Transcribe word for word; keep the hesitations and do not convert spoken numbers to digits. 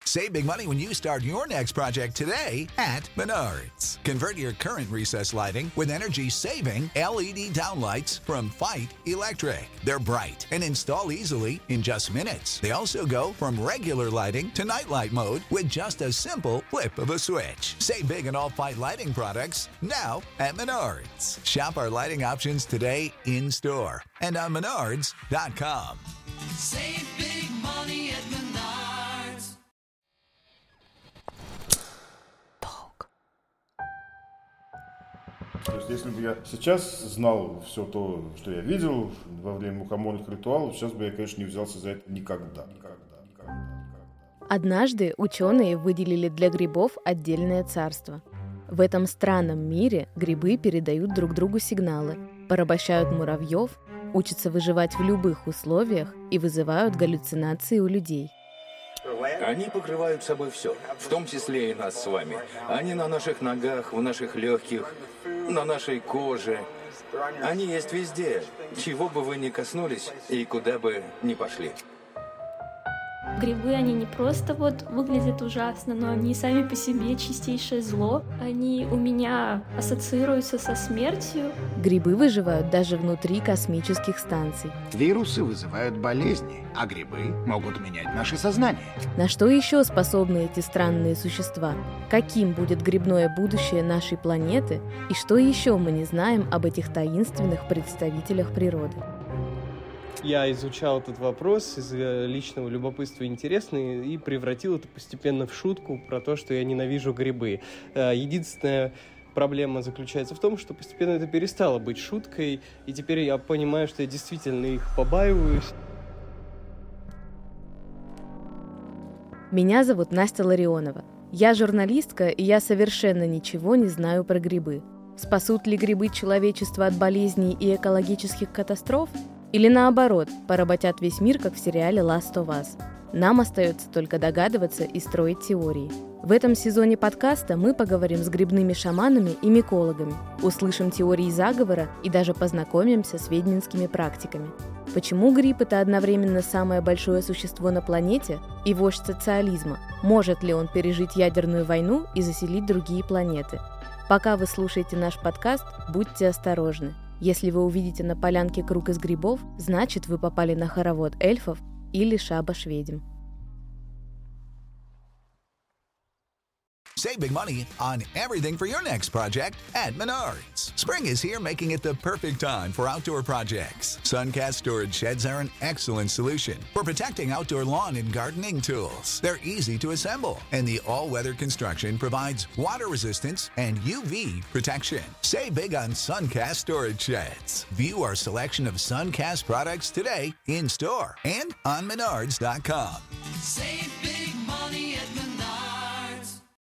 Save big money when you start your next project today at Menards. Convert your current recessed lighting with energy-saving L E D downlights from Fight Electric. They're bright and install easily in just minutes. They also go from regular lighting to nightlight mode with just a simple flip of a switch. Save big on all Fight lighting products now at Menards. Shop our lighting options today in-store and on menards dot com. Save big money at Menards. То есть, если бы я сейчас знал все то, что я видел во время мукомольных ритуалов, сейчас бы я, конечно, не взялся за это никогда. Никогда, никогда, никогда. Однажды ученые выделили для грибов отдельное царство. В этом странном мире грибы передают друг другу сигналы, порабощают муравьев, учатся выживать в любых условиях и вызывают галлюцинации у людей. Они покрывают собой все, в том числе и нас с вами. Они на наших ногах, в наших легких, на нашей коже. Они есть везде, чего бы вы ни коснулись и куда бы ни пошли. Грибы, они не просто вот выглядят ужасно, но они сами по себе чистейшее зло. Они у меня ассоциируются со смертью. Грибы выживают даже внутри космических станций. Вирусы вызывают болезни, а грибы могут менять наше сознание. На что еще способны эти странные существа? Каким будет грибное будущее нашей планеты? И что еще мы не знаем об этих таинственных представителях природы? Я изучал этот вопрос из личного любопытства и интереса и превратил это постепенно в шутку про то, что я ненавижу грибы. Единственная проблема заключается в том, что постепенно это перестало быть шуткой, и теперь я понимаю, что я действительно их побаиваюсь. Меня зовут Настя Ларионова. Я журналистка, и я совершенно ничего не знаю про грибы. Спасут ли грибы человечество от болезней и экологических катастроф? Или наоборот, поработят весь мир, как в сериале Last of Us? Нам остается только догадываться и строить теории. В этом сезоне подкаста мы поговорим с грибными шаманами и микологами, услышим теории заговора и даже познакомимся с ведьминскими практиками. Почему гриб – это одновременно самое большое существо на планете и вождь социализма? Может ли он пережить ядерную войну и заселить другие планеты? Пока вы слушаете наш подкаст, будьте осторожны. Если вы увидите на полянке круг из грибов, значит, вы попали на хоровод эльфов или шабаш ведьм. Save big money on everything for your next project at Menards. Spring is here, making it the perfect time for outdoor projects. Suncast storage sheds are an excellent solution for protecting outdoor lawn and gardening tools. They're easy to assemble, and the all-weather construction provides water resistance and U V protection. Save big on Suncast storage sheds. View our selection of Suncast products today in store and on menards dot com. Save